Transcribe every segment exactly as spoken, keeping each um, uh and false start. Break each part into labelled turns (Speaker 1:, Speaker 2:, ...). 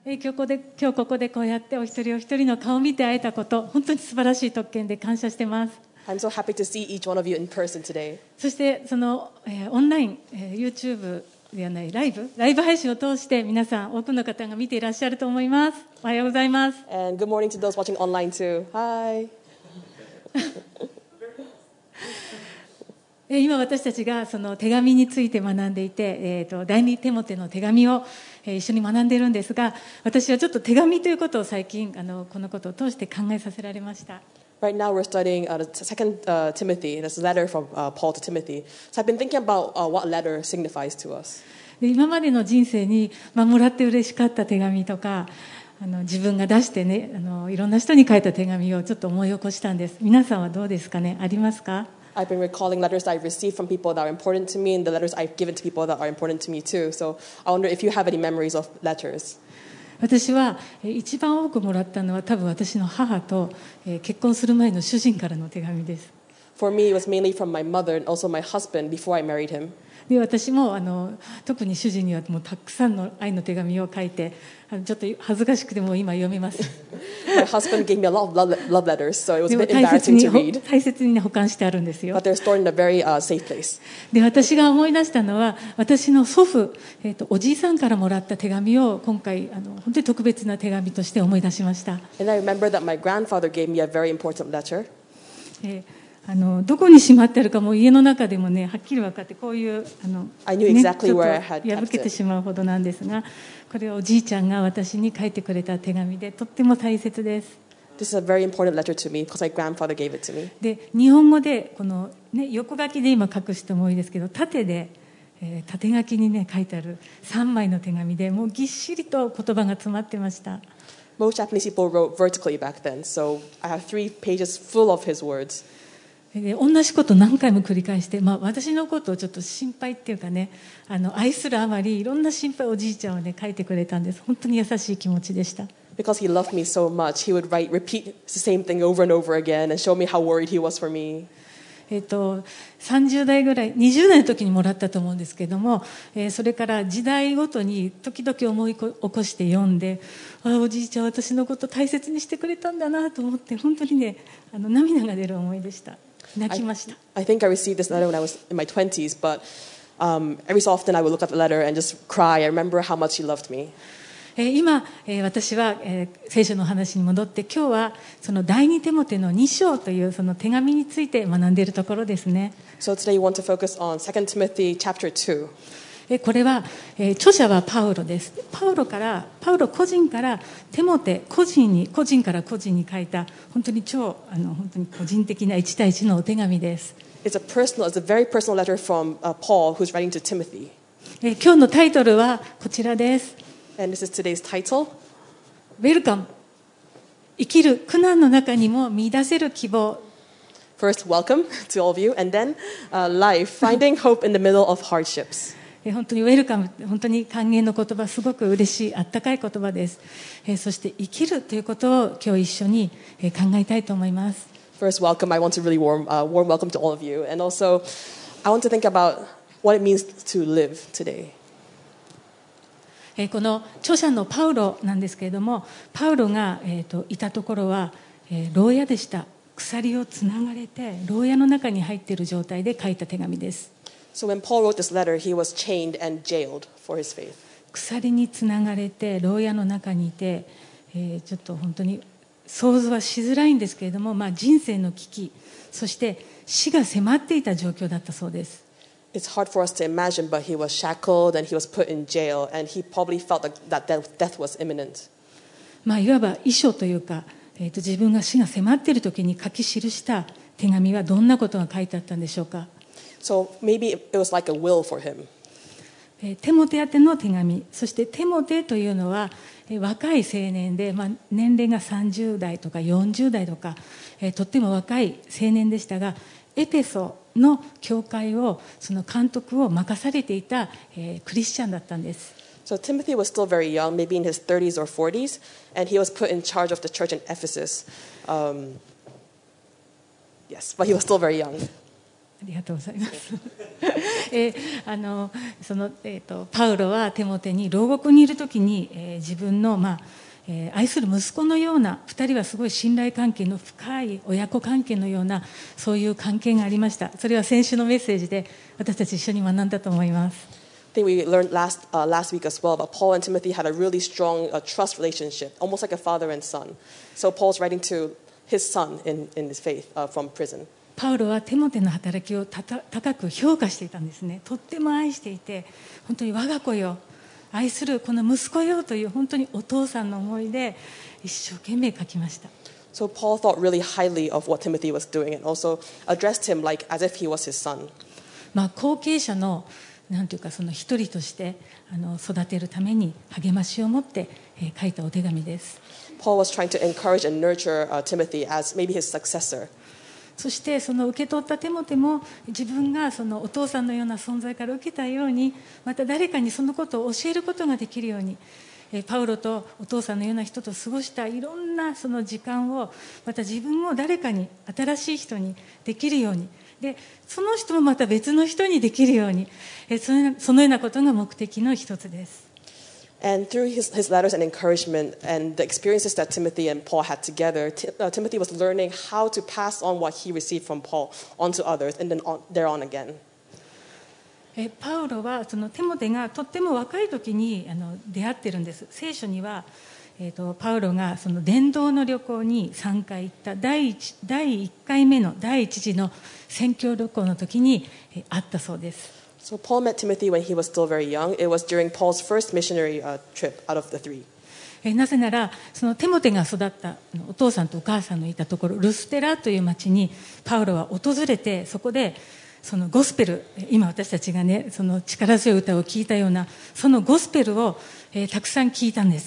Speaker 1: 今日ここで、今日ここでこうやってお一人お一人の顔を見て会えたこと、本当に素晴らしい特権で感謝してます。
Speaker 2: I'm so happy to see each one of you in person today.
Speaker 1: そしてその、えー、オンライン、えー、YouTube ではないライブ、ライブ配信を通して皆さん多くの方が見ていらっしゃると思います。おはようございます。
Speaker 2: And good morning to those watching online too. Hi.
Speaker 1: 今私たちがその手紙について学んでいて、えー、と第二テモテの手紙を一緒に学んでいるんですが、私はちょっと手紙ということを最近あのこのことを通して考えさせられました。
Speaker 2: Right now we're studying uh, the second uh, Timothy. That's a letter from uh, Paul to Timothy. So I've been thinking about uh, what letter signifies to us.
Speaker 1: で今までの人生に、まあ、もらって嬉しかった手紙とか、あの自分が出してね、あのいろんな人に書いた手紙をちょっと思い起こしたんです。皆さんはどうですかね、ありますか？
Speaker 2: I've been recalling letters that I've received from people that are important to me and the letters I've given to people that are important to me too. So I wonder if you have any memories of letters.
Speaker 1: 私は一番多くもらったのは多分私の母と結婚する前の主人からの手紙です。
Speaker 2: For me, it was mainly from my mother and also my husband before I married him.
Speaker 1: で私もあの特に主人にはもうたくさんの愛の手紙を書いて、ちょっと恥ずかしくても今読めます。
Speaker 2: My husband gave me a lot of love letters, so it was a bit embarrassing to read.
Speaker 1: 大切に保管してあるんですよ。
Speaker 2: But they're stored in a very uh, safe place.
Speaker 1: で私が思い出したのは、私の祖父、えーと、おじいさんからもらった手紙を今回あの本当に特別な手紙として思い出しました。
Speaker 2: And I remember that my grandfather gave me a very important letter.
Speaker 1: えーあのどこにしまってあるかも家の中でもねはっきり分かって、こういうあの、
Speaker 2: I knew exactly
Speaker 1: ね、
Speaker 2: where I
Speaker 1: ちょっ
Speaker 2: had
Speaker 1: と破けてしまうほどなんですが、これはおじいちゃんが私に書いてくれた手紙でとっても大切です。
Speaker 2: This is a very important letter to me because my grandfather gave it to me.
Speaker 1: で日本語でこの、ね、横書きで今書く人も多いですけど、縦で、えー、縦書きに、ね、書いてあるさんまいの手紙でもうぎっしりと言葉が詰まってました。
Speaker 2: Most Japanese people wrote vertically back then, so I have three pages full of his words.
Speaker 1: で同じこと何回も繰り返して、まあ、私のことをちょっと心配っていうかね、あの愛するあまりいろんな心配をおじいちゃんはね書いてくれたんです。本当に優しい気持ちでした。
Speaker 2: Because he loved me so much, he would write, repeat the same thing over and over again and show me how worried he was for me.
Speaker 1: えっと、さんじゅう代ぐらい、にじゅう代の時にもらったと思うんですけども、えー、それから時代ごとに時々思い起こして読んで、ああおじいちゃん私のこと大切にしてくれたんだなと思って、本当にねあの涙が出る思いでした。泣きました。
Speaker 2: I, I think I received this letter when I was in my twenties, but um, every so often I would look at the letter and just cry. I remember how much he loved me.
Speaker 1: 今私は聖書の話に戻って、今日はその第二テモテのに章というその手紙について学んでいるところですね。
Speaker 2: So today we want to focus on Second Timothy chapter two.
Speaker 1: これは著者はパウロです。パウロからパウロ個人からテモテ個人に個人から個人に書いた本当に超あの本当に個人的ないち対いちのお手紙です。
Speaker 2: It's a personal, it's a very personal letter from uh, Paul, who's writing to Timothy.
Speaker 1: 今日のタイトルはこちらです。
Speaker 2: And this is today's title.
Speaker 1: Welcome. 生きる苦難の中にも見出せる希望。
Speaker 2: First, welcome to all of you, and then uh, life, finding hope in the middle of hardships.
Speaker 1: 本当にウェルカム、本当に歓迎の言葉、すごく嬉しい、あったかい言葉です。そして生きるということを今日一緒に考えたいと思います。
Speaker 2: First, welcome. I want to really warm, uh, warm welcome to all of you, and also I want to think about what it means to live today.
Speaker 1: この著者のパウロなんですけれども、パウロが、えー、といたところは、えー、牢屋でした。鎖をつながれて牢屋の中に入っている状態で書いた手紙です。
Speaker 2: So when Paul wrote this letter, he was chained and jailed for his faith.
Speaker 1: 鎖につながれて牢屋の中にいて、えー、ちょっと本当に想像はしづらいんですけれども、まあ、人生の危機、そして死が迫っていた状況だったそうです。
Speaker 2: It's hard for us to imagine, but he was shackled and he was put in jail, and he probably felt like that death was imminent.
Speaker 1: まあ、いわば遺書というか、えー、と自分が死が迫っている時に書き記した手紙はどんなことが書いてあったんでしょうか。
Speaker 2: So maybe it was like a will for him.
Speaker 1: テモテ宛ての手紙、そしてテモテというのは若い青年で、まあ、年齢がさんじゅう代とかよんじゅう代とか、えー、とっても若い青年でしたが、エペソの教会をその監督を任されていた、えー、クリスチャンだったんです。
Speaker 2: So Timothy was still very young, maybe in his thirties or forties, and he was put in charge of the church in Ephesus. Um, yes, but he was still very young.
Speaker 1: ありがとうございます。 えーあのそのえー、とパウロはテモテに牢獄にいるときに、えー自分の、まあえー愛する息子のような、ふたりはすごい信頼関係の深い親子関係のような、そういう関係がありました。それは先週のメッセージで私たち一緒に学んだと思います。
Speaker 2: I think we learned last, uh, last week as well, but Paul and Timothy had a really strong uh, trust relationship, almost like a father and son. So Paul's writing to his son in, in his faith uh, from prison.
Speaker 1: パウロはテモテの働きをたた高く評価していたんですね。とっても愛していて、本当に我が子よ、愛するこの息子よという本当にお父さんの思いで一生懸命書きました。
Speaker 2: So Paul thought really highly of what Timothy was doing and also addressed him like as if he was his son.
Speaker 1: まあ、後継者のなんていうかその一人としてあの育てるために励ましを持って、えー書いたお手紙です。
Speaker 2: Paul was trying to encourage and nurture uh, Timothy as maybe his successor.
Speaker 1: そしてその受け取ったテモテも自分がそのお父さんのような存在から受けたように、また誰かにそのことを教えることができるように、えーパウロとお父さんのような人と過ごしたいろんなその時間を、また自分を誰かに、新しい人にできるように、でその人もまた別の人にできるように、えーそのそのようなことが目的の一つです。
Speaker 2: And through his, his letters and encouragement and the experiences that Timothy and Paul had together, Ti- uh, Timothy was learning how to pass on what he received from Paul onto others and then on, thereon again.
Speaker 1: えパウロはそのテモテがとっても若い時にあの出会ってるんです。聖書には、えー、とパウロがその伝道の旅行にさんかい行った第 1, 第いっかいめの第一次の宣教旅行の時にえ会ったそうです。
Speaker 2: So Paul met Timothy when he was still very young. It was during Paul's first missionary uh, trip out of the three.
Speaker 1: えなぜならそのテモテが育ったお父さんとお母さんのいたところルステラという町にパウロは訪れて、そこでそのゴスペル、今私たちがねその力強い歌を聞いたようなそのゴスペルを、えーたくさん聞いたんです。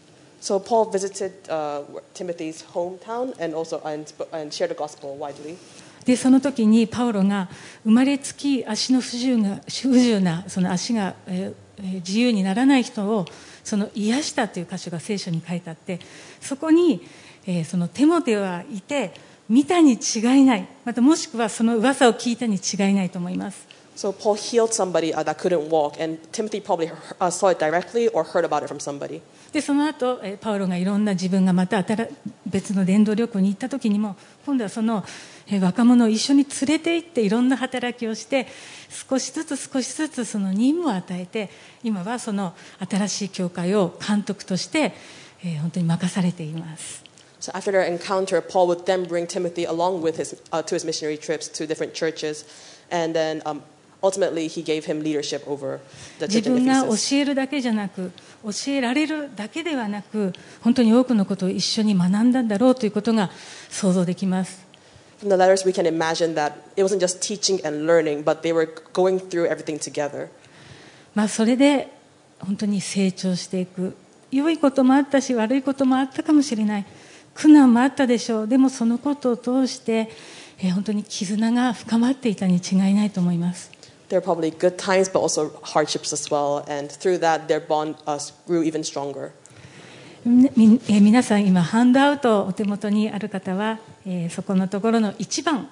Speaker 2: So Paul visited uh, Timothy's hometown and also and, and shared the gospel widely.
Speaker 1: でその時にパウロが生まれつき足の不自由が不自由なその足が、えー自由にならない人をその癒したという箇所が聖書に書いてあって、そこに、えーそのテモテはいて見たに違いない、またもしくはその噂を聞いたに違いないと思います。
Speaker 2: So Paul healed somebody uh, that couldn't walk, and Timothy probably uh, saw it directly or heard about it from somebody.
Speaker 1: でその後、えーパウロがいろんな自分がまた新別の伝道旅行に行った時にも今度はその、えー若者を一緒に連れて行っていろんな働きをして少しずつ少しずつその任務を与えて、今はその新しい教会を監督として、えー本当に任されています。
Speaker 2: So after their encounter, Paul would then bring Timothy along with his uh, to his missionary trips to different churches, and then um, ultimately he gave him leadership over the
Speaker 1: 自
Speaker 2: church in
Speaker 1: 分が
Speaker 2: Ephesus.
Speaker 1: 教えるだけじゃなく教えられるだけではなく本当に多くのことを一緒に学んだんだろうということが想像できます。
Speaker 2: From the letters, we can imagine that it wasn't just teaching and learning, but they were going through everything together.
Speaker 1: まあ、それで本当に成長していく、良いこともあったし悪いこともあったかもしれない、苦難もあったでしょう。でもそのことを通して、えー本当に絆が深まっていたに違いないと思います。
Speaker 2: There are probably good times, but also hardships as well, and through that, their bond uh, grew even stronger.
Speaker 1: みみえー皆さん今ハンドアウトお手元にある方は、えーそこのところのいちばん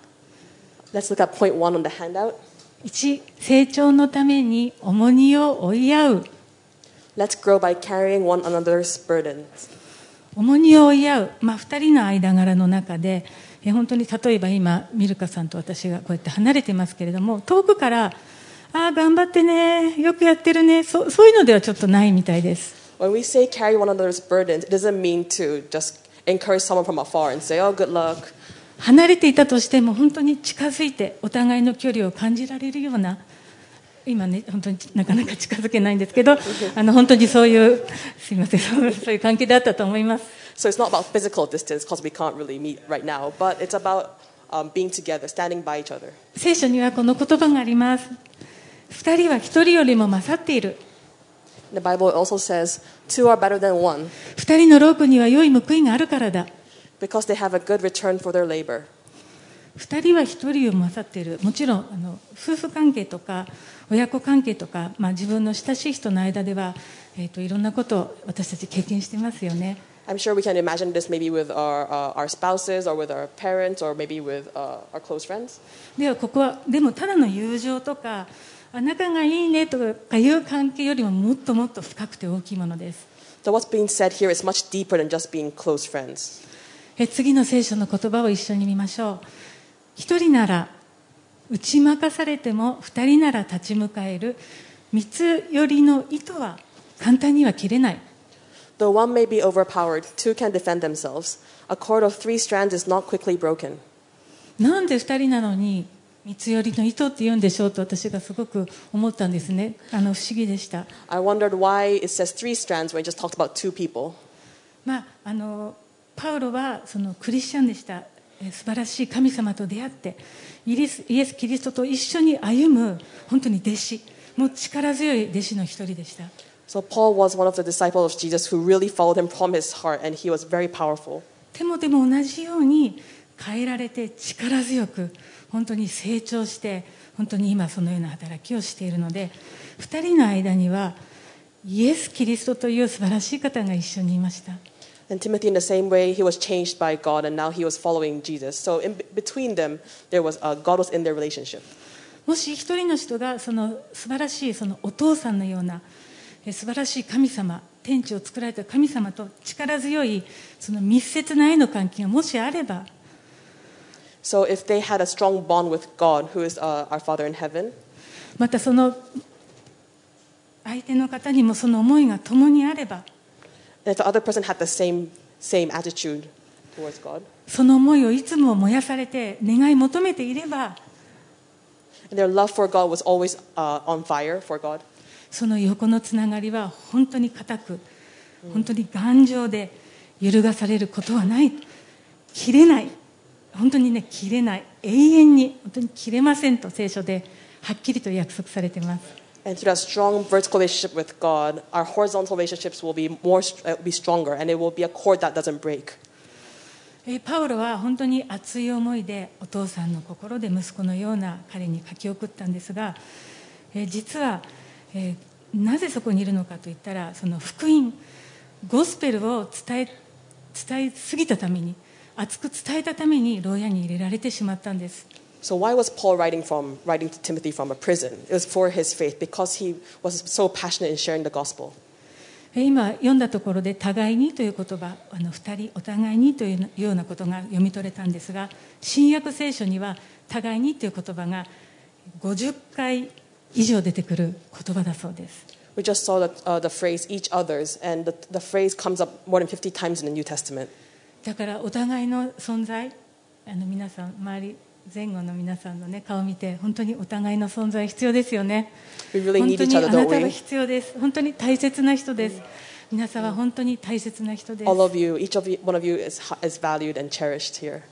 Speaker 2: Let's look at point one on the handout.
Speaker 1: いち、成長のために重荷を負い合う。
Speaker 2: Let's grow by carrying one another's burdens.
Speaker 1: 重荷を負い合う、まあ、ふたりの間柄の中で、えー本当に例えば今ミルカさんと私がこうやって離れてますけれども、遠くからああ頑張ってね、よくやってるね、そそういうのではちょっとないみたいです。
Speaker 2: When we say carry one another's burdens, it doesn't mean to just encourage someone from afar and say, oh, good luck.
Speaker 1: 離れていたとしても本当に近づいてお互いの距離を感じられるような、今ね本当になかなか近づけないんですけどあの本当にそういうすいませんそういう関係だったと思います。
Speaker 2: So it's not about physical distance because we can't really meet right now, but it's about um, being together, standing by each other.
Speaker 1: 聖書にはこの言葉があります。二人は一人よりも勝っている。
Speaker 2: The Bible also says, two are better than one
Speaker 1: 二人の労苦には良い報いがあるからだ。
Speaker 2: because they have a good return for their labor.
Speaker 1: 二人は一人を勝っている。もちろんあの夫婦関係とか親子関係とか、まあ、自分の親しい人の間では、えー、といろんなことを私たち経験してますよね。
Speaker 2: I'm sure we can imagine this maybe with our, uh, our spouses or with our parents or maybe with uh, our close friends.
Speaker 1: ではここはでもただの友情とかあ仲がいいねとかいう関係よりももっともっと深くて大きいものです。
Speaker 2: So what's being said here is much deeper than just being close friends.
Speaker 1: え次の聖書の言葉を一緒に見ましょう。一人なら打ち負かされても二人なら立ち向かえる。三つ寄りの糸は簡単には切れない。
Speaker 2: Though one may be overpowered, two can defend themselves. A cord of three strands is not quickly broken.
Speaker 1: なんで二人なのに三つ寄りの糸って言うんでしょうと私がすごく思ったんですね。あの不思議でした。
Speaker 2: I wondered why it says three strands when it just talked about two people.
Speaker 1: まああのパウロはそのクリスチャンでした。素晴らしい神様と出会ってイエス、イエス・キリストと一緒に歩む本当に弟子、もう力強い弟子の一人でした。
Speaker 2: So Paul was one of the disciples of Jesus who really followed him from his heart, and he was very powerful.
Speaker 1: テモテも同じように変えられて力強く本当に成長して本当に今そのような働きをしているので、二人の間にはイエス・キリストという素晴らしい方が一緒にいました。
Speaker 2: And Timothy, in the same way, he was changed by God, and now he was following Jesus. So in between them, there was uh, God was in their relationship.
Speaker 1: もし一人の人がその素晴らしいそのお父さんのような素晴らしい神様、天地を作られた神様と力強いその密接な愛の関係がもしあれば、
Speaker 2: So if they had a strong bond with God, who is uh, our Father in heaven,
Speaker 1: またその相手の方にもその思いが共にあれば、
Speaker 2: and if the other person had the same same attitude towards God,
Speaker 1: その思いをいつも燃やされて願い求めていれば、
Speaker 2: and their love for God was always uh, on fire for God,
Speaker 1: その横のつながりは本当に固く、本当に頑丈で揺るがされることはない、切れない、本当にね切れない、永遠に本当に切れませんと聖書ではっきりと約束されています。
Speaker 2: and through that strong vertical relationship with God, our horizontal relationships will be more uh, be stronger, and it will be a cord that doesn't break.
Speaker 1: パウロは本当に熱い思いでお父さんの心で息子のような彼に書き送ったんですが、実はなぜそこにいるのかといったら、その福音ゴスペルを伝え伝えすぎたために、熱く伝えたために牢屋に入れられてしまったんです。
Speaker 2: So why was Paul writing from writing to Timothy from a prison? It was for his faith, because he was so passionate in sharing the gospel.
Speaker 1: 今読んだところで互いにという言葉、あの二人お互いにというようなことが読み取れたんですが、新約聖書には互いにという言葉がごじゅっかい以上出てくる言葉だそうです。
Speaker 2: We just saw the, uh, the phrase each other's, and the, the phrase comes up more than fifty times in the New Testament.
Speaker 1: だからお互いの存在、あの皆さん周り前後の皆さんの、ね、顔を見て本当にお互いの存在必要ですよね。
Speaker 2: We really
Speaker 1: 本
Speaker 2: need
Speaker 1: 当
Speaker 2: each
Speaker 1: に
Speaker 2: other,
Speaker 1: あな
Speaker 2: don't
Speaker 1: たは
Speaker 2: we?
Speaker 1: 必要です。本当に大切な人です。皆さんは本当に大切な人です。
Speaker 2: All of you, each of you, one of you is, is valued and cherished here.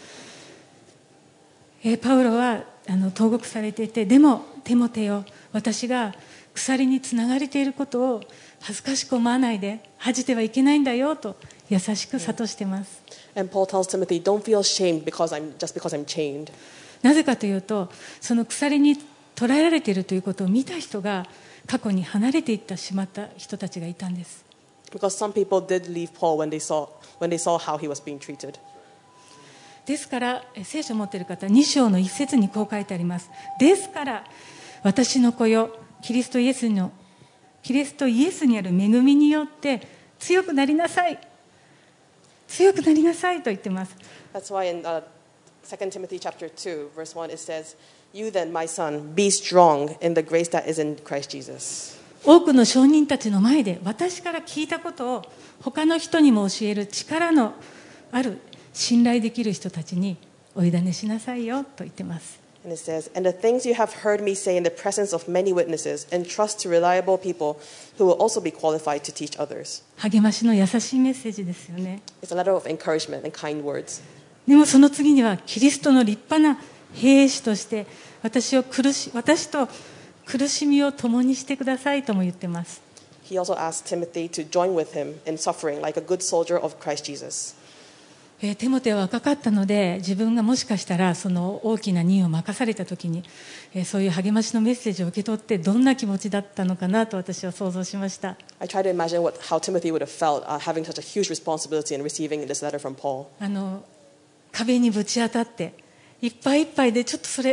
Speaker 1: えーパウロはあの投獄されていて、でもテモテよ、私が鎖につながれていることを恥ずかしく思わないで、恥じてはいけないんだよと優しく諭しています。
Speaker 2: And Paul tells Timothy, don't feel ashamed because I'm, just because I'm chained.
Speaker 1: なぜかというと、その鎖に捕らえられているということを見た人が過去に離れていってしまった人たちがいたんです。
Speaker 2: Because some people did leave Paul when they saw, when they saw how he was being treated.
Speaker 1: ですから聖書を持っている方、に章の一節にこう書いてあります。ですから私の子よ、キリストイエスのキリストイエスにある恵みによって強くなりなさい、強くなりなさいと言ってます。
Speaker 2: That's why in uh, Second Timothy chapter two, verse one, it says, You then, my son, be strong in the grace that is in Christ Jesus.
Speaker 1: 多くの証人たちの前で私から聞いたことを他の人にも教える力のある信頼できる人たちにお委ねしなさいよと言ってます。
Speaker 2: And it says, And the things you have heard me say in the presence of many witnesses, entrust to reliable people who will also be qualified to teach others.
Speaker 1: 励ましの優しいメッセージですよね。
Speaker 2: It's a letter of encouragement and kind words.
Speaker 1: でもその次にはキリストの立派な兵士として私を苦し私と苦しみを共にしてくださいとも言ってます。
Speaker 2: He also asked Timothy to join with him in suffering like a good soldier of Christ Jesus.
Speaker 1: えーテモテは若かったので、自分がもしかしたらその大きな任を任された時に、えーそういう励ましのメッセージを受け取ってどんな気持ちだったのかなと私は想像しました。
Speaker 2: I try to imagine what, how Timothy would have felt uh, having such a huge responsibility and receiving this letter from Paul.
Speaker 1: あの壁にぶち当たっていっぱいいっぱいでちょっとそれ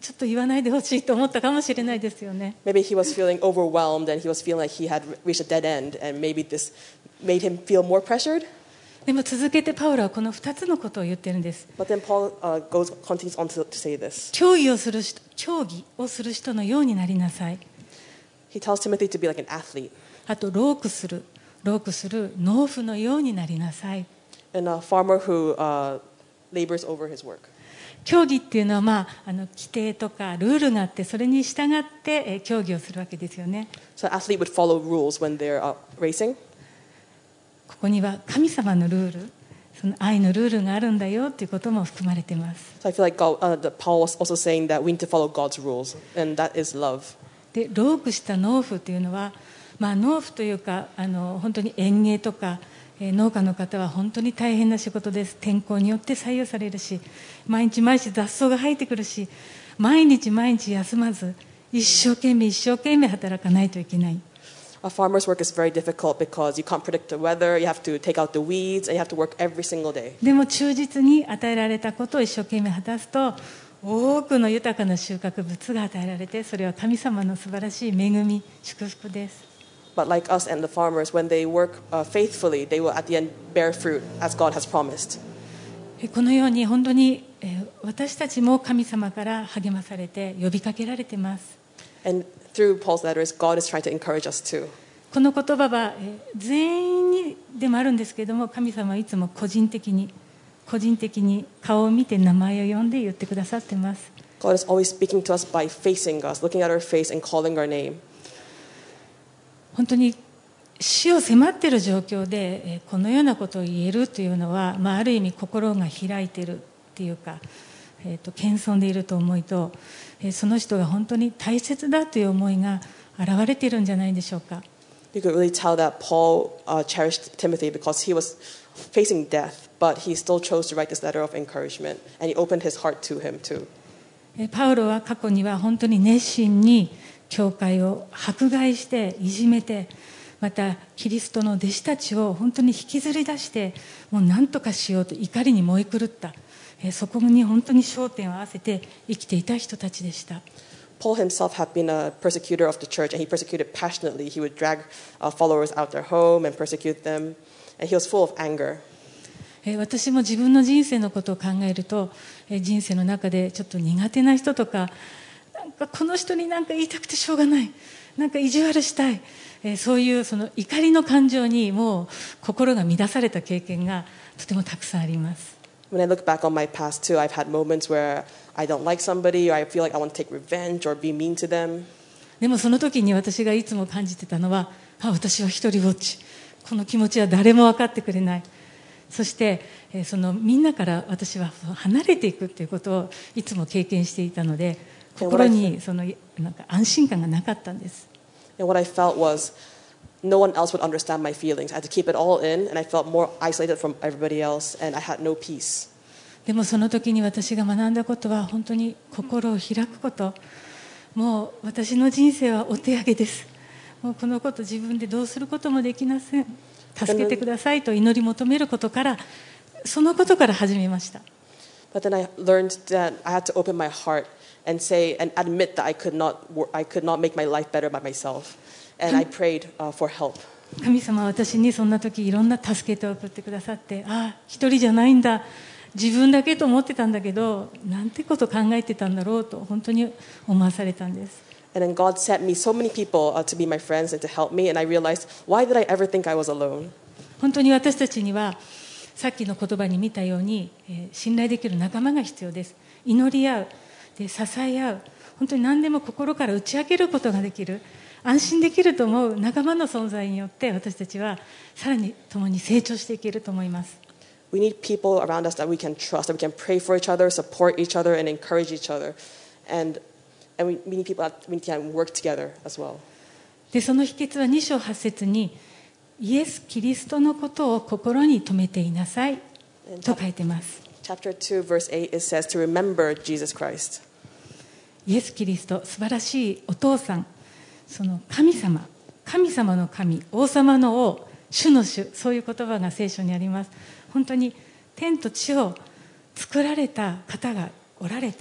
Speaker 1: ちょっと言わないでほしいと思ったかもしれないですよね。
Speaker 2: Maybe he was feeling overwhelmed and he was feeling like he had reached a dead end, and maybe this made him feel more pressured.
Speaker 1: でも続けてパウロはこのふたつのことを言ってるんです。
Speaker 2: But then Paul uh, goes continues on to, to say this.
Speaker 1: 競技をする人、競技をする人のようになりなさい。
Speaker 2: He tells Timothy to be like an athlete.
Speaker 1: あとロークする、ロークする農夫のようになりなさい。
Speaker 2: And a farmer who uh, labors over his work.
Speaker 1: 競技っていうのは、まあ、あの規定とかルールがあって、それに従ってえー競技をするわけですよね。
Speaker 2: So an athlete would follow rules when they're uh, racing.
Speaker 1: ここには神様のルール、その愛のルールがあるんだよということも含まれています。
Speaker 2: So I feel like God, uh, that Paul was also saying that we need to follow God's rules, and that is love.
Speaker 1: でロークした農夫というのは、まあ、農夫というかあの本当に園芸とか、えー農家の方は本当に大変な仕事です。天候によって左右されるし、毎日毎日雑草が生えてくるし、毎日毎日休まず一生懸命一生懸命働かないといけない。
Speaker 2: A farmer's work is very difficult because you can't predict the weather, you have to take out the weeds, and you have to work every single day.
Speaker 1: でも忠実に与えられたことを一生懸命果たすと、多くの豊かな収穫物が与えられて、それは神様の素晴らしい恵み、祝福です。
Speaker 2: But like us and the farmers, when they work uh, faithfully, they will at the end bear fruit as God has promised.
Speaker 1: このように本当にえー私たちも神様から励まされて呼びかけられています。
Speaker 2: And through Paul's letters, God is trying to encourage us too.
Speaker 1: この言葉はえー全員にでもあるんですけれども、神様はいつも個人的に個人的に顔を見て名前を呼んで言ってくださっています。
Speaker 2: God is always speaking to us by facing us, looking at our face and calling our name.
Speaker 1: 本当に死を迫っている状況でえーこのようなことを言えるというのは、まあ、ある意味心が開いているっていうか、えーと謙遜でいると思いと、えーその人が本当に大切だという思いが現れているんじゃないでしょうか。
Speaker 2: You could really tell that Paul uh, cherished Timothy because he was facing death, but he still chose to write this letter of encouragement, and he opened his heart to him too.
Speaker 1: えーパウロは過去には本当に熱心に教会を迫害していじめて、またキリストの弟子たちを本当に引きずり出して、もう何とかしようと怒りに燃え狂った、えーそこに本当に焦点を合わせて生きていた人たちでした。
Speaker 2: Paul himself had been a persecutor of the church, and he persecuted passionately. He would drag uh, followers out their home and persecute them, and he was full of anger.
Speaker 1: えー私も自分の人生のことを考えると、えー人生の中でちょっと苦手な人とか、なんかこの人に何か言いたくてしょうがない、なんか意地悪したい、えーそういうその怒りの感情にもう心が乱された経験がとてもたくさんあります。
Speaker 2: When I look back on my past too, I've had moments where I don't like somebody, or I feel like I want to take revenge or be mean to them.
Speaker 1: でもその時に私がいつも感じてたのは、あ、私は一人ぼっち、この気持ちは誰も分かってくれない、そしてえーそのみんなから私は離れていくということをいつも経験していたので、心にそのなんか安心感がなかったんです。
Speaker 2: And what I felt was no one else would understand my feelings. I had to keep it all in, and I felt more isolated from everybody else, and I had no peace.
Speaker 1: でもその時に私が学んだことは本当に心を開くこと。もう私の人生はお手上げです。もうこのこと自分でどうすることもできません。助けてくださいと祈り求めることから、そのことから始めました。
Speaker 2: But then I learned that I had to open my heart and say and admit that I could not wor- I could not make my life better by myself, and I prayed uh, for help.
Speaker 1: 神様は私にそんな時いろんな助け手を送ってくださって、ああ一人じゃないんだ、自分だけと思ってたんだけど、なんてこと考えてたんだろうと本当に思わされたんです。
Speaker 2: And then God sent me so many people uh, to be my friends and to help me, and I realized, why did I ever think I was alone?
Speaker 1: 本当に私たちにはさっきの言葉に見たように、えー信頼できる仲間が必要です。祈り合う、で支え合う、本当に何でも心から打ち明けることができる、安心できると思う仲間の存在によって私たちはさらに共に成長していけると思います。
Speaker 2: We need people around us that we can trust, that we can pray for each other, support each other, and encourage each other. And, and we, we need people that we can work together as well.
Speaker 1: でその秘訣はに章はち節にイエス・キリストのことを心に留めていなさいと書いています。
Speaker 2: Chapter two, verse eight, it says to remember Jesus Christ.
Speaker 1: イエス・キリスト、素晴らしいお父さん、その神様、神様の神、王様の王、主の主、そういう言葉が聖書にあります。本当に天と地を作られた方がおられて、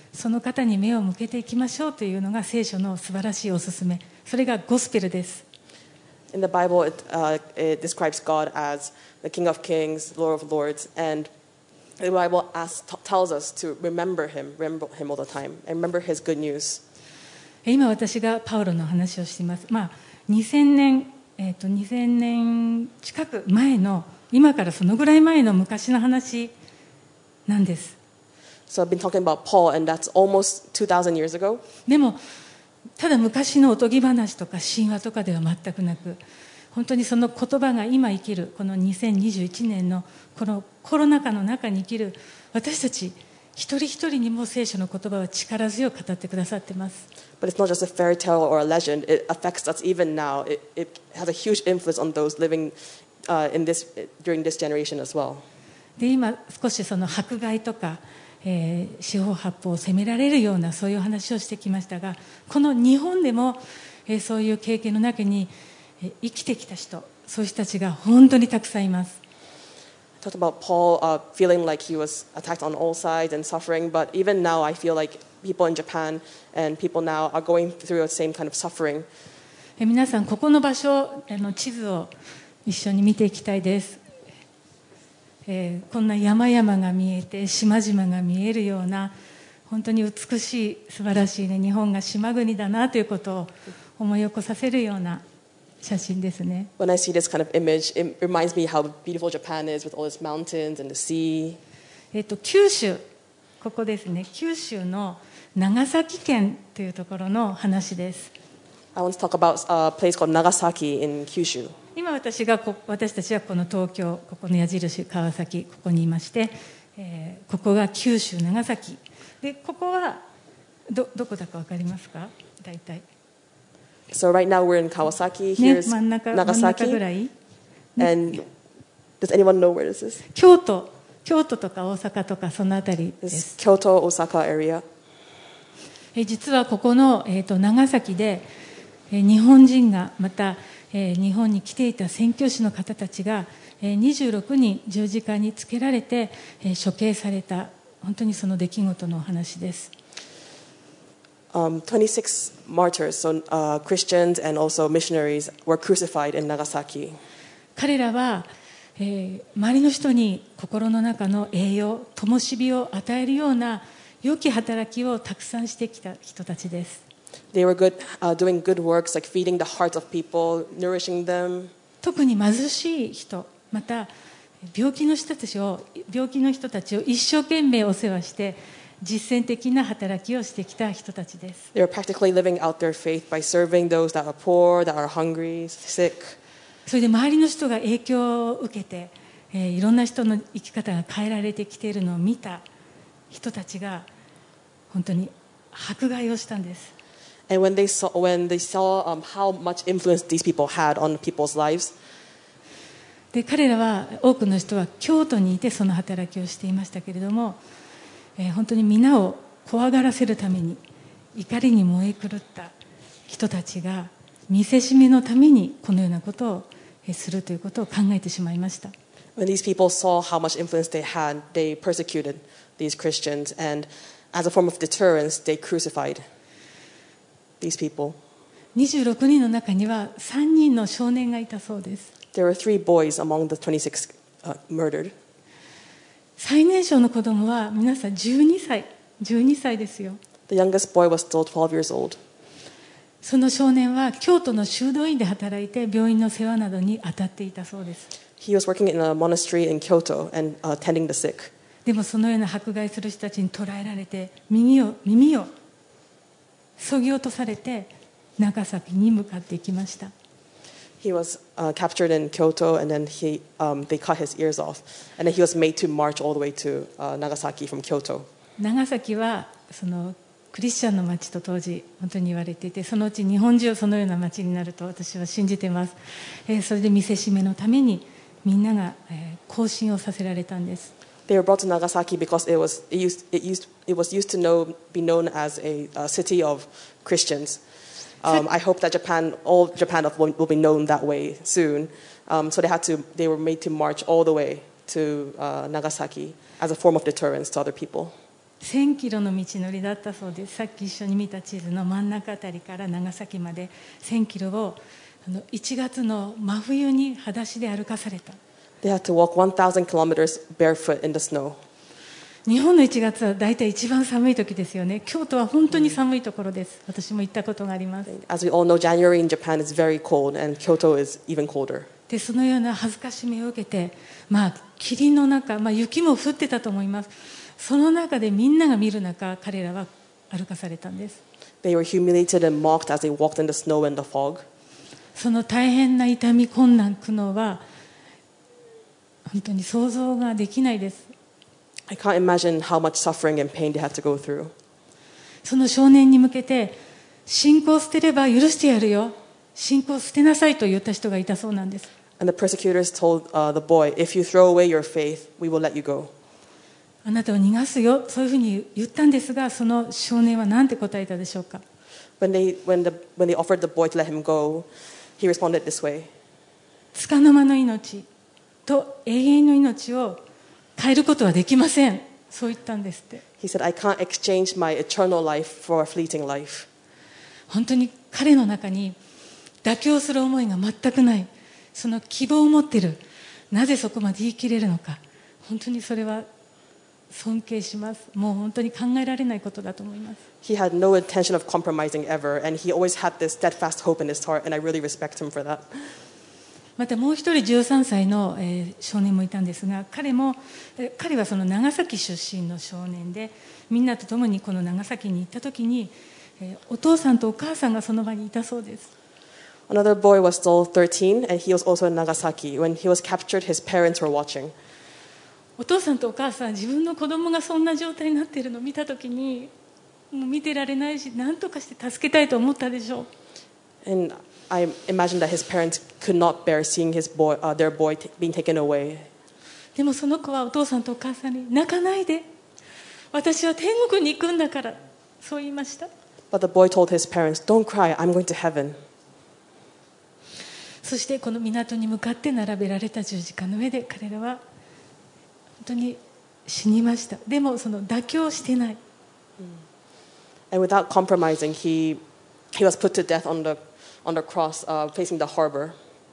Speaker 1: その方に目を向けていきましょうというのが聖書の素晴らしいおすすめ。それがゴスペルです。
Speaker 2: In the Bible, it, uh, it describes God as the King of Kings, Lord of Lords, and the Bible asks, t- tells us to remember Him, remember Him all the time, and remember His good news.
Speaker 1: 今私がパウロの話をしています。まあ、にせんねん、えーと、にせんねん近く前の、今からそのぐらい前の昔の話なんです。
Speaker 2: So I've been talking about Paul, and that's almost two thousand years ago.
Speaker 1: でもただ昔のおとぎ話とか神話とかでは全くなく、本当にその言葉が今生きるこのにせんにじゅういちねんのこのコロナ禍の中に生きる私たち一人一人にも聖書の言葉は力強く語ってくださっています。
Speaker 2: But it's not just a fairy tale or a legend. It affects us even now. It, it has a huge influence on those living uh, in this, during this generation as well.
Speaker 1: で今少しその迫害とか、えー、四方八方を責められるようなそういう話をしてきましたが、この日本でも、えー、そういう経験の中に、えー、生きてきた人、そういう人たちが本当にたくさんいます。
Speaker 2: I talked about Paul uh, feeling like he was attacked on all sides and suffering, but even now I feel like people in Japan and people now are going through the same kind of suffering.
Speaker 1: えー、皆さんここの場所、あの地図を一緒に見ていきたいです。えー、こんな山々が見えて島々が見えるような本当に美しい素晴らしい、ね、日本が島国だなということを思い起こさせるような写真ですね。
Speaker 2: When I see this kind of image, it reminds me how beautiful Japan is with all its mountains and the sea.
Speaker 1: えっと九州、ここですね。九州の長崎県というところの話です。
Speaker 2: I want to talk about a place called Nagasaki in Kyushu.
Speaker 1: 今私がこ私たちはこの東京、ここの矢印川崎、ここにいまして、えー、ここが九州長崎で、ここは ど, どこだか分かりますか？大体。
Speaker 2: So right now we're in Kawasaki.
Speaker 1: ね、
Speaker 2: Here's
Speaker 1: 真ん中、真ん中ぐら
Speaker 2: Nagasaki.
Speaker 1: い。
Speaker 2: And does anyone know where this is?
Speaker 1: 京都、京都とか大阪とかそのあたりで
Speaker 2: This
Speaker 1: す。
Speaker 2: Kyoto, Osaka area.
Speaker 1: え実はここの、えー、と長崎で、えー、日本人がまた、えー、日本に来ていた宣教師の方たちが、えー、にじゅうろくにん十字架につけられて、えー、処刑された本当にその出来事のお話です。
Speaker 2: Um, twenty-six martyrs, so uh, Christians and also missionaries, were crucified in Nagasaki.
Speaker 1: 彼らは、えー、周りの人に心の中の栄養、灯火を与えるような良き働きをたくさんしてきた人たちです。
Speaker 2: They were good, uh, doing good works like feeding the hearts of people, nourishing them.
Speaker 1: 特に貧しい人、また病気の人たちを病気の人たちを一生懸命お世話して実践的な働きをしてきた人たちです。
Speaker 2: They were practically living out their faith by serving those that are poor, that are hungry, sick.
Speaker 1: それで周りの人が影響を受けて、えー、いろんな人の生き方が変えられてきているのを見た人たちが本当に迫害をしたんです。
Speaker 2: And when they saw, when they saw um, how much influence these people had on people's lives,
Speaker 1: で彼らは多くの人は京都にいてその働きをしていましたけれども、えー、本当に皆を怖がらせるために怒りに燃え狂った人たちが見せしめのためにこのようなことをするということを考えてしまいました。
Speaker 2: when these people saw how much influence they had, they persecuted these Christians, and as a form of deterrence, they crucified these people.
Speaker 1: にじゅうろくにんの中にはさんにんの少年がいたそうです。
Speaker 2: There were three boys among the twenty-six uh, murdered.
Speaker 1: 最年少の子供は皆さんじゅうにさい、じゅうにさいですよ。
Speaker 2: The youngest boy was still twelve years old.
Speaker 1: その少年は京都の修道院で働いて病院の世話などに当たっていたそうです。
Speaker 2: He was working in a monastery in Kyoto and uh, tending the sick.
Speaker 1: でもそのような迫害する人たちに捕らえられて耳を耳を削ぎ落とされて長崎に向かっていきました。
Speaker 2: He was uh, captured in Kyoto, and then he, um, they cut his ears off, and then he was made to march all the way to uh, Nagasaki from Kyoto.
Speaker 1: 長崎はそのクリスチャンの町と当時本当に言われていて、そのうち日本中そのような町になると私は信じています。えー、それで見せしめのためにみんなが、えー、行進をさせられたんです。
Speaker 2: They were brought to Nagasaki because it was it used it used it was used to know be known as a, a city of Christians. Um, I hope that Japan, all Japan will, will be known that way soon. Um, so they had to, they were made to march all the way to uh, Nagasaki as a form of deterrence to other people.
Speaker 1: せんキロの道のりだったそうです。さっき一緒に見た地図の真ん中あたりから長崎までせんキロをあのいちがつの真冬に裸足で歩かされた。
Speaker 2: They had to walk one thousand kilometers barefoot in the snow.
Speaker 1: 日本のいちがつは大体一番寒い時ですよね。京都は本当に寒いところです。私も行ったことがあります。
Speaker 2: As we all know, January in Japan is very cold, and Kyoto is even colder.
Speaker 1: でそのような恥ずかしめを受けて、まあ、霧の中、まあ、雪も降ってたと思います。その中でみんなが見る中、彼らは歩かされたんです。
Speaker 2: They were humiliated and mocked as they walked in the snow and the fog.
Speaker 1: その大変な痛み、困難、苦悩は本当に想像ができないです。
Speaker 2: I can't imagine how much suffering and pain they had to go through.
Speaker 1: その少年に向けて、信仰を捨てれば許してやるよ、信仰を捨てなさいと言った人がいたそうなんです。
Speaker 2: And the persecutors told uh, the boy, if you throw away your faith, we will let you go.
Speaker 1: あなたを逃がすよ、そういうふうに言ったんですが、その少年は何て答えたでしょうか。
Speaker 2: When they, when, the, when they offered the boy to let him go, he responded this way.
Speaker 1: 束の間の命と永遠の命を変えることはできません。そう言ったんですって。
Speaker 2: He said, I can't exchange my eternal life for a fleeting life.
Speaker 1: 本当に彼の中に妥協する思いが全くない。その希望を持っている。なぜそこまで言い切れるのか。本当にそれは尊敬します。もう本当に考えられないことだと思います。
Speaker 2: He had no intention of compromising ever, and he always had this steadfast hope in his heart, and I really respect him for that.
Speaker 1: またもう一人じゅうさんさいの、えー、少年もいたんですが、彼も、えー、彼はその長崎出身の少年で、みんなと共にこの長崎に行った時に、えー、お父さんとお母さんがその場にいたそうです。
Speaker 2: Another boy was still thirteen, and he was also in Nagasaki. When he was captured, his parents were watching.
Speaker 1: お父さんとお母さん、自分の子供がそんな状態になっているのを見た時に、もう見てられないし、何とかして助けたいと思ったでしょう。
Speaker 2: And I imagine that his parents could not bear seeing his boy, uh, their boy t- being taken away.
Speaker 1: でもその子はお父さんとお母さんに、泣かないで、私は天国に行くんだから、そう言いました。
Speaker 2: But the boy told his parents, don't cry, I'm going to heaven.
Speaker 1: そしてこの港に向かって並べられた十字架の上で彼らは本当に死にました。でもその妥協してない。
Speaker 2: And without compromising, he, he was put to death on the, on the cross uh, facing the harbor.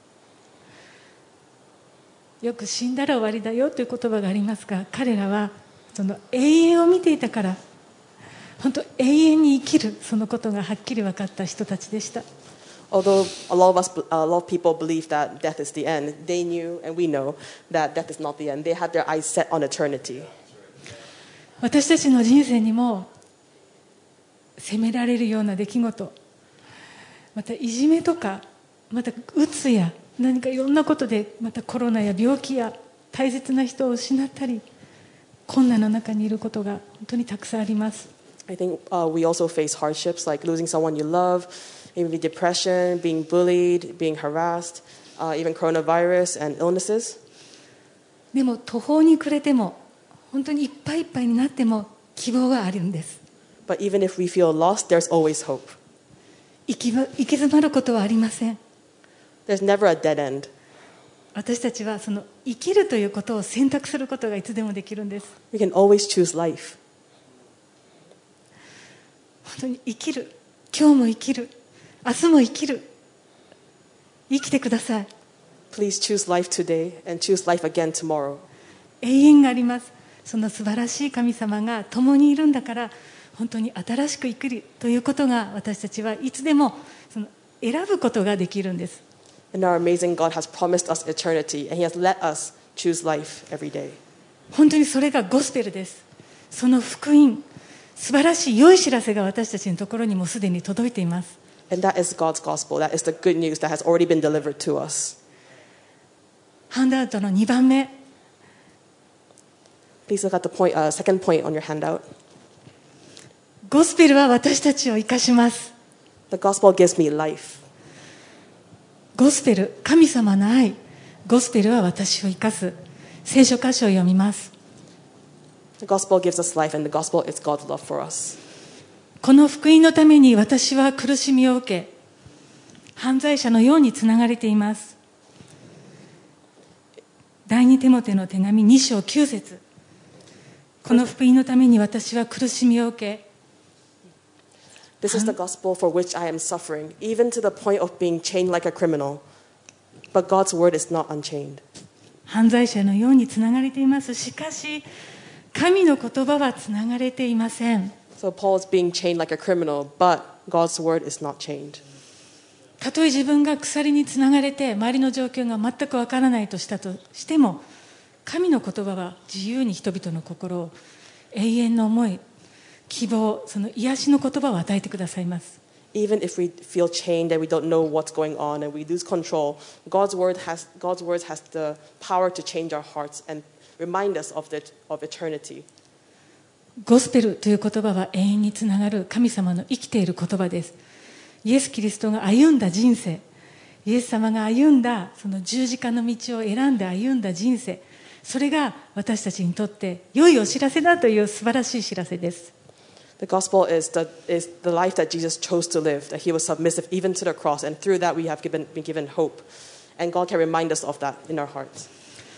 Speaker 1: よく死んだら終わりだよという言葉がありますが、彼らはその永遠を見ていたから、本当永遠に生きるそのことがはっきり分かった人たちでした。
Speaker 2: Although a lot of us, a lot of people believe that death is the end, they knew and we know that death is not the end. They had their eyes set on eternity.
Speaker 1: 私たちの人生にも責められるような出来事、またいじめとか、またうつや何かいろんなことで、またコロナや病気や大切な人を失ったり、困難の中にいることが本当にたくさんあります。
Speaker 2: I think uh, we also face hardships like losing someone you love, maybe depression, being bullied, being harassed, uh, even coronavirus and illnesses.
Speaker 1: でも途方に暮れても、本当にいっぱいいっぱいになっても希望があるんです。
Speaker 2: But even if we feel lost, there's always hope.
Speaker 1: 行き行き詰まることはありません。
Speaker 2: There's never a dead end.
Speaker 1: 私たちはその生きるということを選択することがいつでもできるんです。
Speaker 2: We can always choose life.
Speaker 1: 本当に生きる、今日も生きる、明日も生きる、生きてください。
Speaker 2: Please choose life today and choose life again tomorrow.
Speaker 1: 永遠があります。その素晴らしい神様が共にいるんだから、本当に新しく生きるということが私たちはいつでもその選ぶことができるんです。
Speaker 2: And our amazing God has promised us eternity, and He has let us choose life every day.
Speaker 1: 本当にそれがゴスペルです。その福音、素晴らしい良い知らせが私たちのところにもすでに届いています。
Speaker 2: And that is God's gospel. That is the good news that has already been delivered to us.
Speaker 1: ハンドアウトのにばんめ。
Speaker 2: Please look at the point, uh, second point on your handout.
Speaker 1: ゴスペルは私たちを生かします。
Speaker 2: The gospel gives me life.
Speaker 1: ゴスペル、神様の愛。ゴスペルは私を生かす。聖書箇所を読みます。
Speaker 2: The gospel gives us life, and the gospel is God's love for us.
Speaker 1: この福音のために私は苦しみを受け、犯罪者のようにつながれています。第二テモテの手紙に章きゅう節。 この福音のために私は苦しみを受け、
Speaker 2: This is the gospel for which I am suffering, even to the point of being chained like a criminal. But God's word is not unchained.
Speaker 1: 犯罪者のようにつながれています。しかし、神の言葉はつながれていません。
Speaker 2: So Paul is being chained like a criminal, but God's word is not chained.
Speaker 1: たとえ自分が鎖につながれて周りの状況が全くわからないとしたとしても、神の言葉は自由に人々の心を永遠の思い、希望、その癒しの言葉を与えてくださいます。
Speaker 2: Even if we feel chained and we don't know what's going on and we lose control, God's word has God's words has the power to change our hearts and remind us of the of eternity.
Speaker 1: ゴスペルという言葉は永遠につながる神様の生きている言葉です。イエス・キリストが歩んだ人生、イエス様が歩んだその十字架の道を選んで歩んだ人生、それが私たちにとって良いお知らせだという素晴らしい知らせです。
Speaker 2: The gospel is the, is the life that Jesus chose to live, that he was submissive even to the cross, and through that we have given, been given hope. And God can remind us of that in our hearts.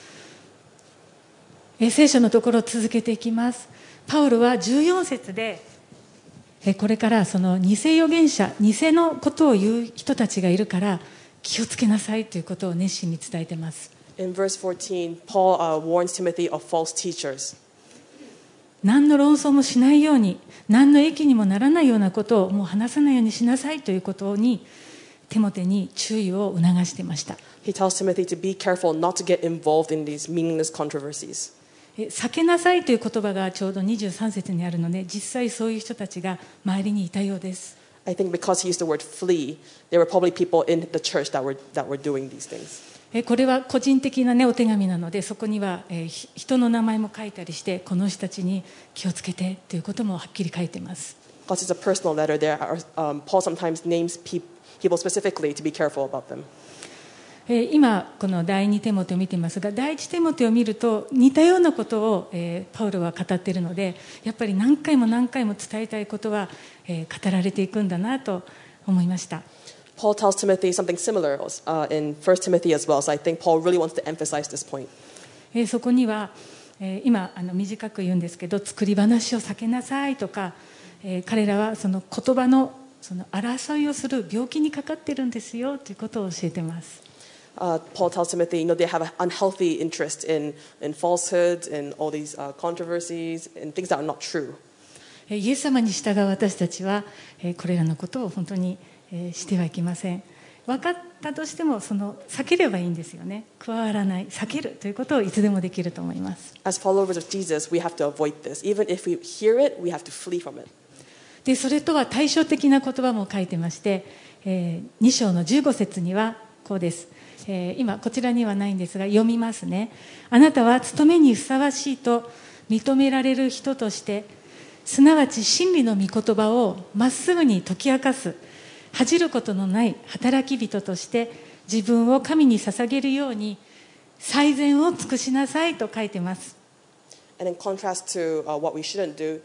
Speaker 1: 聖書のところを続けていきます。パウロはじゅうよん節で、これからその偽預言者、偽のことを言う人たちがいるから気をつけなさいということを熱心に伝えています。
Speaker 2: In verse fourteen, Paul uh, warns Timothy of false teachers.
Speaker 1: 何の論争もしないように、何の益にもならないようなことをもう話さないようにしなさいということにテモテに注意を促していました。
Speaker 2: He tells Timothy to be careful not to get involved in these meaningless controversies.
Speaker 1: 避けなさいという言葉がちょうどにじゅうさん節にあるので、実際そういう人たちが周りにいたようです。
Speaker 2: I think because he used the word flee, there were probably people in the church that were, that were doing these things.
Speaker 1: これは個人的な、ね、お手紙なので、そこには、えー、人の名前も書いたりして、この人たちに気をつけてということもはっきり書いています。
Speaker 2: Because it's a personal letter, there are, um, Paul sometimes names pe- people specifically to be careful about them.
Speaker 1: えー、今この第二テモテを見ていますが、第一テモテを見ると似たようなことを、えー、パウロは語っているので、やっぱり何回も何回も伝えたいことは、えー、語られていくんだなと思いました。
Speaker 2: Paul tells Timothy something similar uh, in First Timothy as well, so I think Paul really wants to emphasize this point.
Speaker 1: えー、そこには、えー、今あの短く言うんですけど、作り話を避けなさいとか、えー、彼らはその言葉のその争いをする病気にかかってるんですよということを教えています。
Speaker 2: Uh, Paul tells Timothy, you know, they have an unhealthy interest in, in falsehoods and all these uh, controversies and things that are not true.
Speaker 1: イエス様に従う私たちは、えー、これらのことを本当にえー、してはいけません。分かったとしてもその避ければいいんですよね。加わらない、避けるということをいつでもできると思います。
Speaker 2: As followers of Jesus, we have to avoid this. Even if we hear it, we have to flee from it.
Speaker 1: で、それとは対照的な言葉も書いてまして、えー、に章のじゅうご節にはこうです。えー、今こちらにはないんですが読みますね。あなたは務めにふさわしいと認められる人として、すなわち真理の御言葉をまっすぐに解き明かす。恥じることのない働き人として自分を神に捧げるように最善を尽くしなさいと書いています。
Speaker 2: And in contrast to uh, what we shouldn't do,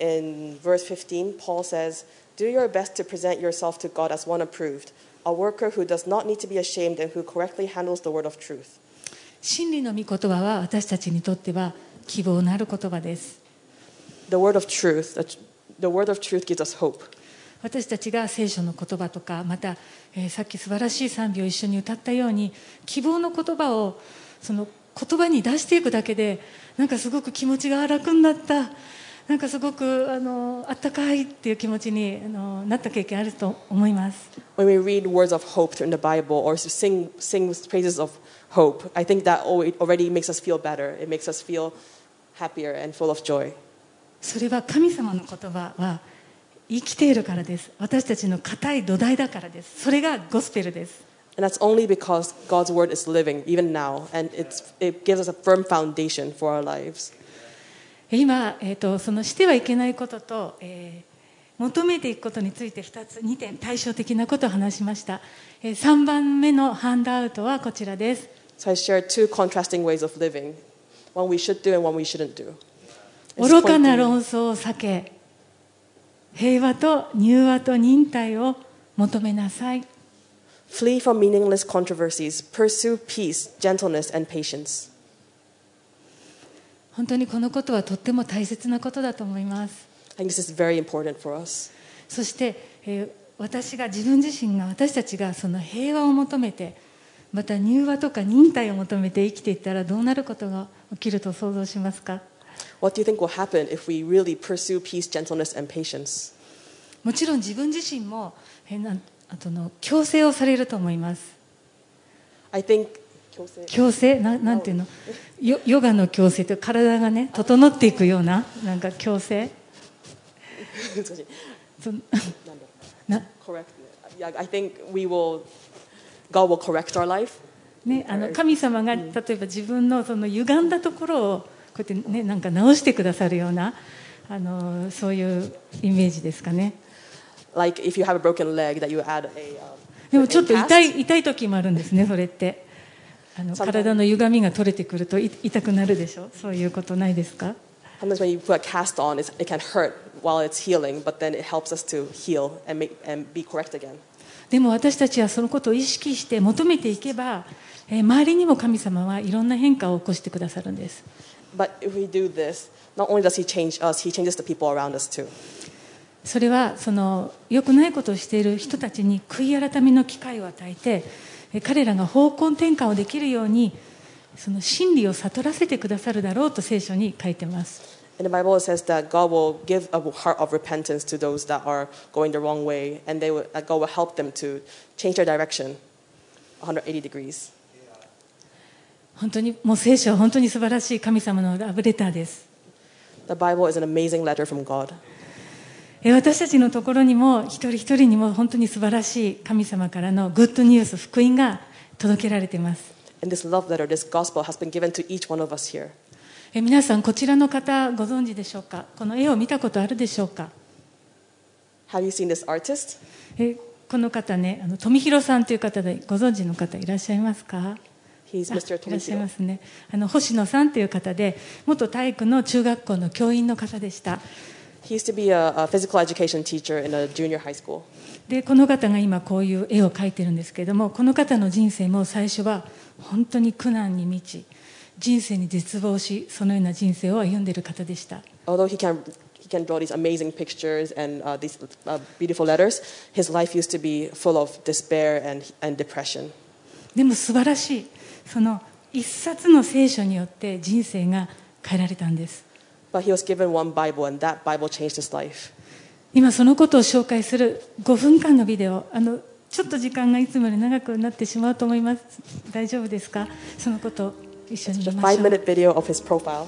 Speaker 2: in verse fifteen, Paul says, "Do your best to present yourself to God as one approved, a worker who does not need to be ashamed and who correctly handles the word of truth."
Speaker 1: 真理の御言葉は私たちにとっては希望のある言葉です。
Speaker 2: The word of truth, the word of truth gives us hope.
Speaker 1: 私たちが聖書の言葉とか、また、えー、さっき素晴らしい賛美を一緒に歌ったように希望の言葉をその言葉に出していくだけで、なんかすごく気持ちが楽になった、なんかすごくあのあったかいっていう気持ちにあのなった経験あると思います。
Speaker 2: When we read words of hope in the Bible or sing sing praises of hope, I think that already makes us feel better. It makes us feel happier and full of joy.
Speaker 1: それは神様の言葉は生きているからです。私たちの固い土台だからです。それがゴスペルです。
Speaker 2: And that's only because God's word is living even now, and it's, it gives us a firm foundation for our lives.
Speaker 1: 今、えーと、そのしてはいけないことと、えー、求めていくことについてふたつ、にてん対照的なことを話しました。えー、さんばんめのハンドアウトはこちらです。
Speaker 2: So I shared two contrasting ways of living, one we should do and one we shouldn't do.
Speaker 1: 愚かな論争を避け、平和と柔和と忍耐を求めなさい。
Speaker 2: Flee from meaningless controversies. Pursue peace, gentleness, and patience.
Speaker 1: 本当にこのことはとっても大切なことだと思います。
Speaker 2: I think this is very important for us.
Speaker 1: そして、えー、私が自分自身が私たちがその平和を求めて、また柔和とか忍耐を求めて生きていったらどうなることが起きると想像しますか？
Speaker 2: What do you think will happen if we really pursue peace, gentleness, and patience?
Speaker 1: もちろん自分自身も、えー、なんあとの強制をされると思います。
Speaker 2: I think
Speaker 1: 強制な、なんていうの、ヨ、ヨガの強制という体がね整っていくようななんか強制そな
Speaker 2: correct. Yeah, I think we will God will correct our life.
Speaker 1: ね、あの神様が例えば自分のその歪んだところをこうやってねなんか直してくださるようなあのそういうイメージですかね。
Speaker 2: Like if you have a broken leg that you add a、um,
Speaker 1: でもちょっと痛い痛い時もあるんですね。それってあの体の歪みが取れてくると痛くなるでしょ。そういうことないですか
Speaker 2: ？Sometimes when you put a cast on, it's, it can hurt while it's healing, but then it helps us to heal and make and be correct again.
Speaker 1: でも私たちはそのことを意識して求めていけば、えー、周りにも神様はいろんな変化を起こしてくださるんです。
Speaker 2: But if we do this, not only does He change us, He changes the people around us too.
Speaker 1: それはその良くないことをしている人たちに悔い改めの機会を与えて、彼らが方向転換をできるようにその真理を悟らせてくださるだろうと聖書に書いてます。
Speaker 2: In the Bible, it says that God will give a heart of repentance to those that are going the wrong way, and they will, that God will help them to change their direction one hundred eighty degrees.
Speaker 1: 本当にもう聖書は本当に素晴らしい神様のラブレターです。
Speaker 2: The Bible is an amazing letter from God.
Speaker 1: 私たちのところにも一人一人にも本当に素晴らしい神様からのグッドニュース、福音が届けられています。
Speaker 2: And this love letter, this gospel has been given to each one of us here.
Speaker 1: え皆さんこちらの方ご存知でしょうか？この絵を見たことあるでしょうか？
Speaker 2: Have you seen this artist?
Speaker 1: えこの方ね、あの富弘さんという方でご存知の方いらっしゃいますか？
Speaker 2: He's Mister
Speaker 1: いらっしゃいま
Speaker 2: Tomihiro.
Speaker 1: すね。あの星野さんという方で元体育の中学校の教員の方でした。
Speaker 2: He used to be a, a physical education teacher in a junior high school.
Speaker 1: でこの方が今こういう絵を描いてるんですけれども、この方の人生も最初は本当に苦難に満ち、人生に絶望し、そのような人生を歩んでいる方でした。
Speaker 2: Although he can he can draw these amazing pictures and uh, these uh, beautiful letters, his life used to be full of despair and and depression.
Speaker 1: でも素晴らしい、その一冊の聖書によって人生が変えられたんです。
Speaker 2: But he was given one Bible, and that Bible changed his life.
Speaker 1: 今そのことを紹介するごふんかんのビデオ、あのちょっと時間がいつもより長くなってしまうと思います。大丈夫ですか？そのことを一緒に見ましょう。
Speaker 2: Just a five-minute video of his profile.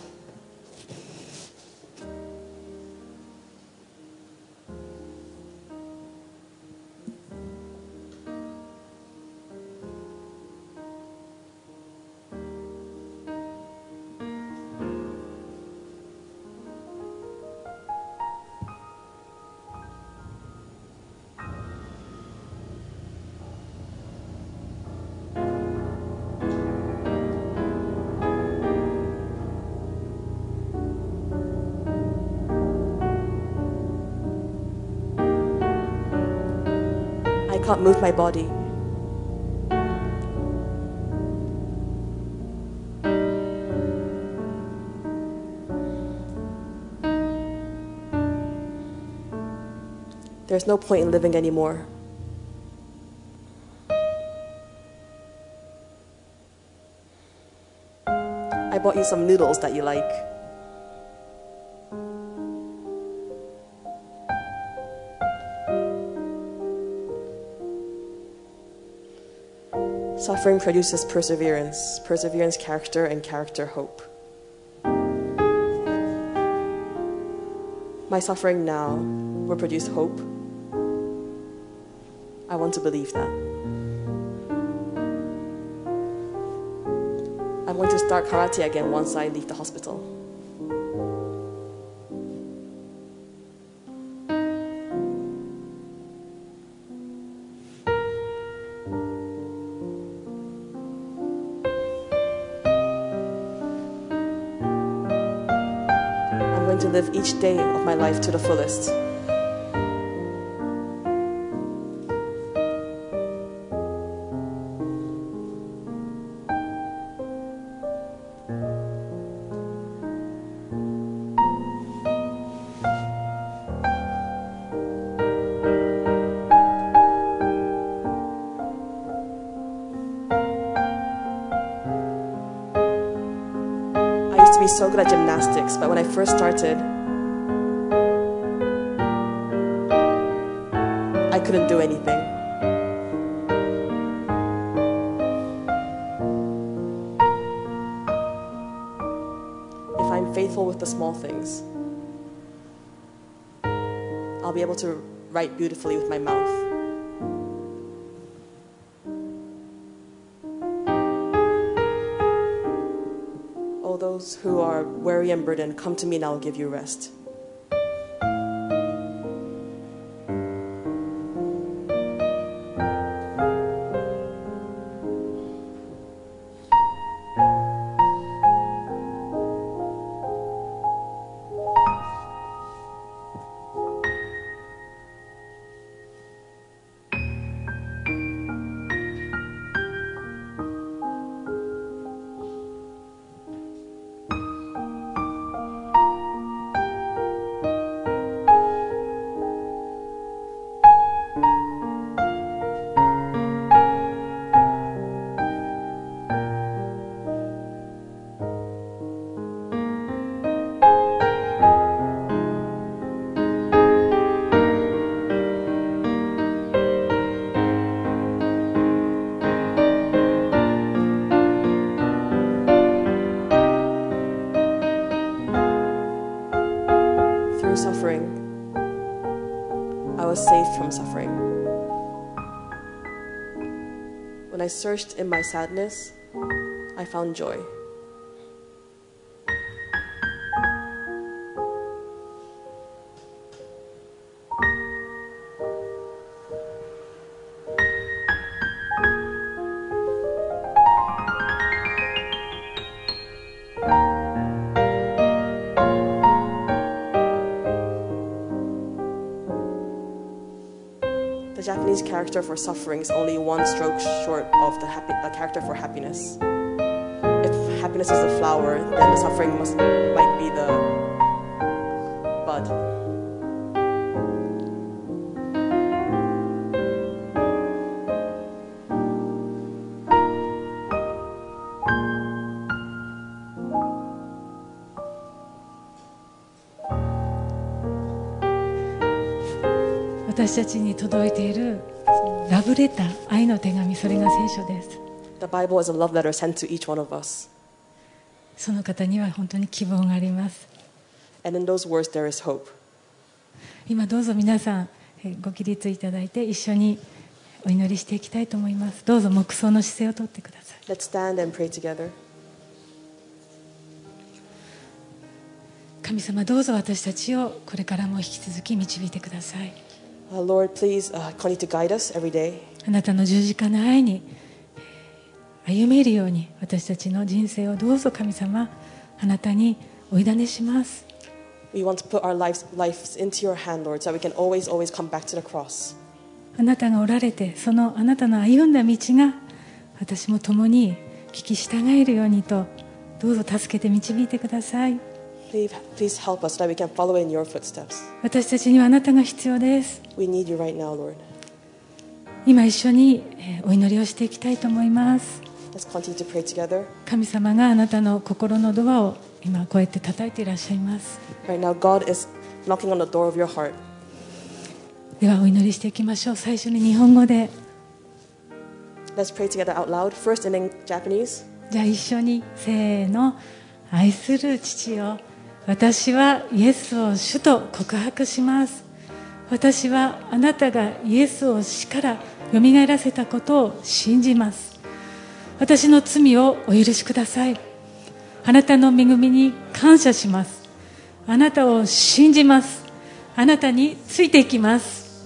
Speaker 2: I can't move my body. There's no point in living anymore. I bought you some noodles that you like. Suffering produces perseverance, perseverance, character, and character, hope. My suffering now will produce hope. I want to believe that. I'm going to start karate again once I leave the hospital. I'm going to live each day of my life to the fullest. be so good at gymnastics, but when I first started, I couldn't do anything. If I'm faithful with the small things, I'll be able to write beautifully with my mouth. All those who are weary and burdened, come to me and I will give you rest. Suffering, I was saved from suffering. When I searched in my sadness, I found joy. The Japanese character for suffering is only one stroke short of the, happy, the character for happiness. If happiness is the flower, then the suffering must, might be the bud.
Speaker 1: 「私たちに届いているラブレター、愛の手紙、それが聖書です。
Speaker 2: The Bible is a love letter sent to each one of us.
Speaker 1: その方には本当に希望があります。
Speaker 2: And in those words there is hope.
Speaker 1: 今どうぞ皆さんご起立いただいて一緒にお祈りしていきたいと思います。どうぞ黙想の姿勢をとってください。
Speaker 2: Let's stand and pray together.
Speaker 1: 神様、どうぞ私たちをこれからも引き続き導いてください。
Speaker 2: Uh, Lord, please uh, continue to guide us every day.
Speaker 1: あなたの十字架の愛に歩めるように私たちの人生をどうぞ神様、あなたにお委ねします。
Speaker 2: We want to put our lives, lives into your hand, Lord, so that we can always, always come back to the cross.
Speaker 1: あなたがおられて、そのあなたの歩んだ道が私も共に聞き従えるようにと、どうぞ助けて導いてください。
Speaker 2: Please, please help us so that we can follow in your footsteps.
Speaker 1: 私たちにはあなたが必要です。
Speaker 2: We need you right now, Lord.
Speaker 1: 今一緒にお祈りをしていきたいと思います。
Speaker 2: Let's continue to pray together.
Speaker 1: 神様があなたの心のドアを今こうやって叩いていらっしゃいます。
Speaker 2: Right now, God is knocking on the door of your heart.
Speaker 1: ではお祈りしていきましょう。最初に日本語で。
Speaker 2: Let's pray together out loud. First in Japanese.
Speaker 1: じゃあ一緒にせーの。愛する父よ、私はイエスを主と告白します。私はあなたがイエスを死からよみがえらせたことを信じます。私の罪をお許しください。あなたの恵みに感謝します。あなたを信じます。あなたについていきます。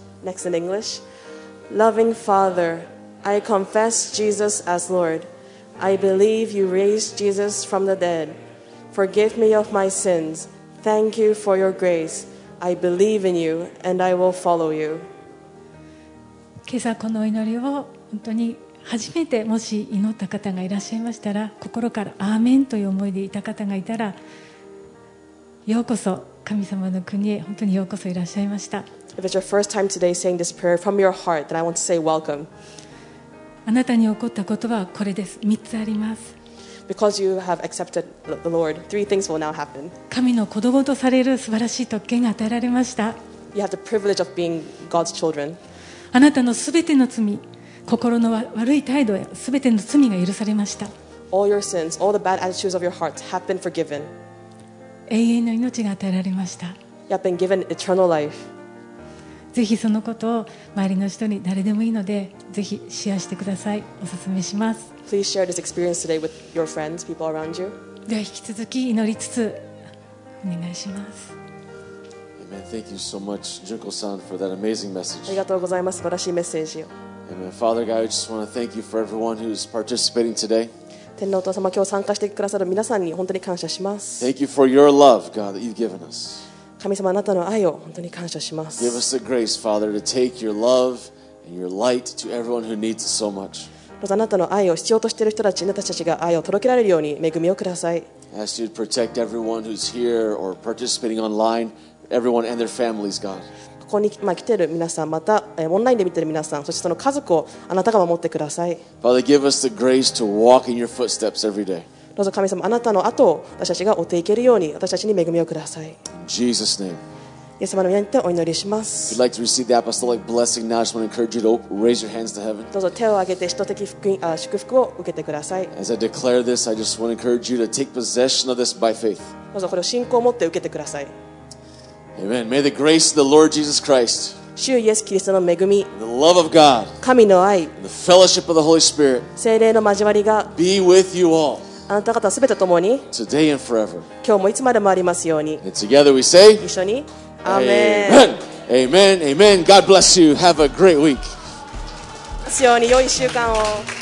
Speaker 2: Next in English. Loving Father, I confess Jesus as Lord. I believe you raised Jesus from the dead. Forgive me of my sins. Thank you for your grace. I believe in you and I will follow you.
Speaker 1: 今朝この祈りを本当に初めてもし祈った方がいらっしゃいましたら、心からアーメンという思いでいた方がいたら、ようこそ神様の国へ本当にようこそいらっしゃいました。
Speaker 2: If it's your first time today saying this prayer from your heart, then I want to say welcome.
Speaker 1: あなたに起こったことはこれです。みっつあります。
Speaker 2: Because you have accepted the Lord, three things will now happen.
Speaker 1: 神の子供とされる素晴らしい特権が与えられました。
Speaker 2: You have the privilege of being God's children.
Speaker 1: あなたのすべての罪、心の悪い態度やすべての罪が許されました。
Speaker 2: All your sins, all the bad attitudes of your heart have been forgiven.
Speaker 1: 永遠の命が与えられました。
Speaker 2: You have been given eternal life.
Speaker 1: ぜひそのことを周りの人に誰でもいいので、ぜひシェアしてください。お勧めします。
Speaker 2: Please share this experience today with your friends, people around you.
Speaker 1: では引き続き祈りつつお願いします。
Speaker 3: Amen. Thank you so much, Junko-san, for that amazing
Speaker 2: あ
Speaker 3: message.
Speaker 2: りがとうございます。素晴らしいメッセージを。
Speaker 3: Amen. Father God, I just want to thank you for everyone who's participating today.
Speaker 2: 天皇お父様、今日参加してくださる皆さんに本当に感謝します。
Speaker 3: Thank you for your love, God, that you've given us.
Speaker 2: 神様、あなたの愛を本当に感謝しま
Speaker 3: Give
Speaker 2: す。
Speaker 3: us the grace, Father, to take your love and your light to everyone who needs it so much.
Speaker 2: どうぞあなたの愛を必要としている人たちに私たちが愛を届けられるように恵みをください。
Speaker 3: I ask you to protect everyone who's here or participating online, everyone and their families, God.
Speaker 2: ここにまあ来ている皆さん、またえーオンラインで見ている皆さん、そしてその家族をあなたが守ってください。
Speaker 3: Father, give us the grace to walk in your footsteps every day.
Speaker 2: どうぞ神様、あなたの後を私たちが追っていけるように私たちに恵みをください。
Speaker 3: In Jesus' name.
Speaker 2: イエス様の皆によってお祈りしま
Speaker 3: If
Speaker 2: す。
Speaker 3: you'd like to receive the apostolic blessing now, I just want to encourage you to raise your hands to heaven.
Speaker 2: どうぞ手を挙げて使徒的福音あ祝福を受けてください。
Speaker 3: As I declare this, I just want to encourage you to take possession of this by faith.
Speaker 2: どうぞこれを信仰を持って受けてください。
Speaker 3: Amen. May the grace of the Lord Jesus Christ,
Speaker 2: 主イエスキリストの恵み、
Speaker 3: the love of God,
Speaker 2: 神の愛、
Speaker 3: and the fellowship of the Holy Spirit
Speaker 2: 聖霊の交わりが
Speaker 3: be with you all
Speaker 2: あなた方すべてともに
Speaker 3: today and forever.
Speaker 2: 今日もいつまでもありますように。
Speaker 3: And together we say,
Speaker 2: 一緒にアーメン。
Speaker 3: Amen. Amen. Amen. God bless you. Have a great week.
Speaker 2: ますように良い習慣を。